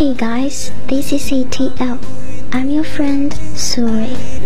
Hey guys, this is ATL. I'm your friend, Suri.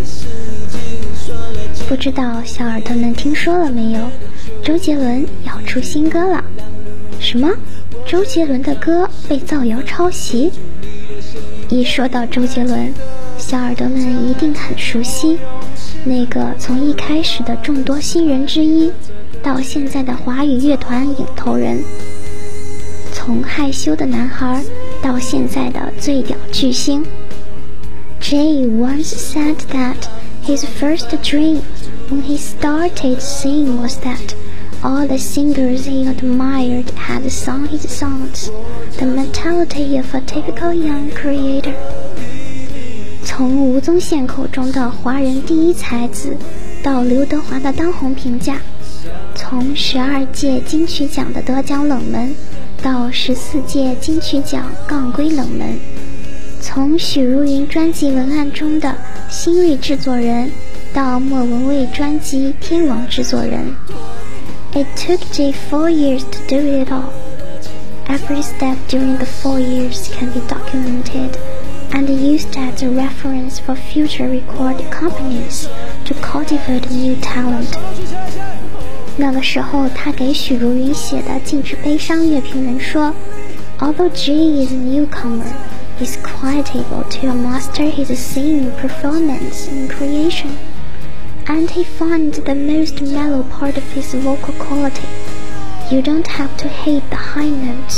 不知道小耳朵们听说了没有？周杰伦要出新歌了。什么？周杰伦的歌被造谣抄袭？一说到周杰伦，小耳朵们一定很熟悉，那个从一开始的众多新人之一，到现在的华语乐团领头人，从害羞的男孩到现在的最屌巨星。Jay once said that his first dream when he started singing was that all the singers he admired had sung his songs, the mentality of a typical young creator. 从吴宗宪口中的华人第一才子，到刘德华的当红评价，从12届金曲奖的得奖冷门，到14届金曲奖杠归冷门，从许茹芸专辑文案中的新锐制作人，到莫文蔚专辑天王制作人。It took Jay 4 years to do it all. Every step during the 4 years can be documented and used as a reference for future record companies to cultivate new talent. 那个时候他给许茹芸写的禁止悲伤乐评人说， Although Jay is a newcomer, he's quite able to master his singing performance and creation, and he finds the most mellow part of his vocal quality. You don't have to hate the high notes,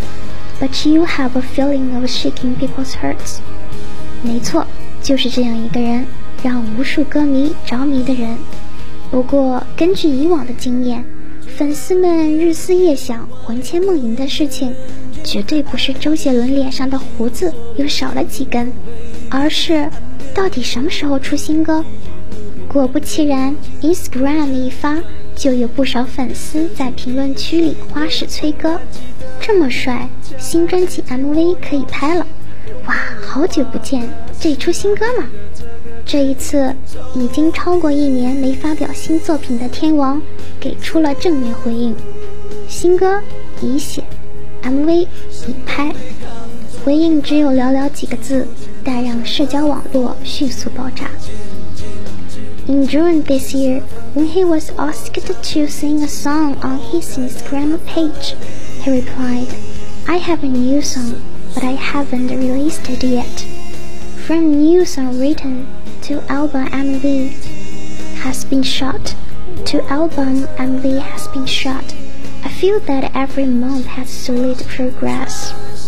but you have a feeling of shaking people's hearts. 没错，就是这样一个人，让无数歌迷着迷的人。不过根据以往的经验，粉丝们日思夜想魂牵梦萦的事情绝对不是周杰伦脸上的胡子又少了几根，而是到底什么时候出新歌。果不其然， Instagram 一发，就有不少粉丝在评论区里花式催歌，这么帅，新专辑 MV 可以拍了，哇，好久不见，这出新歌吗？这一次已经超过1年没发表新作品的天王给出了正面回应，新歌已写， MV 已拍，回应只有寥寥几个字，但让社交网络迅速爆炸。In June this year, when he was asked to sing a song on his Instagram page, he replied, I have a new song, but I haven't released it yet. From new song written to album MV has been shot, to album MV has been shot. I feel that every month has solid progress.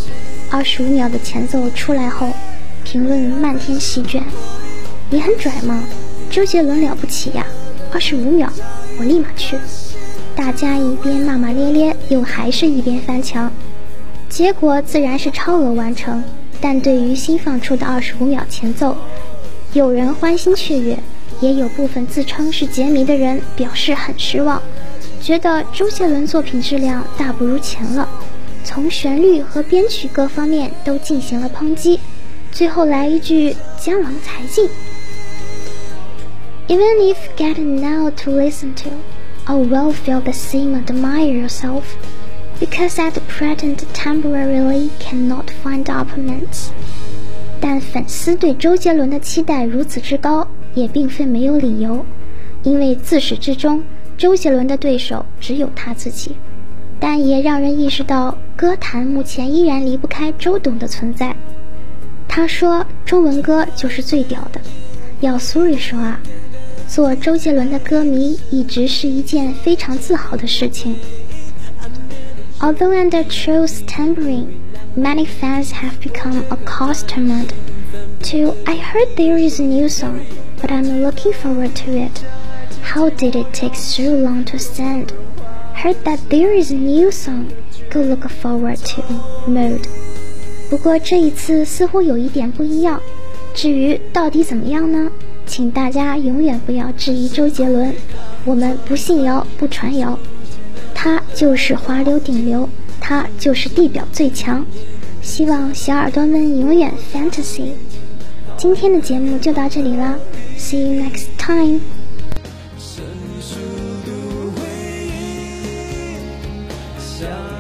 25秒的前奏出来后，评论漫天席卷。你很拽吗？周杰伦了不起呀！25秒，我立马去。大家一边骂骂咧咧，又还是一边翻墙，结果自然是超额完成。但对于新放出的25秒前奏，有人欢欣雀跃，也有部分自称是杰迷的人表示很失望，觉得周杰伦作品质量大不如前了，从旋律和编曲各方面都进行了抨击，最后来一句江郎才尽。Even if get now to listen to, I will feel the same admire yourself, because at present temporarily cannot find opponents. 但粉丝对周杰伦的期待如此之高，也并非没有理由，因为自始至终，周杰伦的对手只有他自己。但也让人意识到，歌坛目前依然离不开周董的存在。他说，中文歌就是最屌的。要 Suri 说啊，做周杰伦的歌迷一直是一件非常自豪的事情。Although under Troll's tampering, many fans have become accustomed to, I heard there is a new song, but I'm looking forward to it. How did it take so long to send? Heard that there is a new song, go look forward to mode. 不过这一次似乎有一点不一样，至于到底怎么样呢？请大家永远不要质疑周杰伦，我们不信谣不传谣，他就是华流顶流，他就是地表最强。希望小耳朵们永远 fantasy。 今天的节目就到这里了， See you next time。 成熟的回忆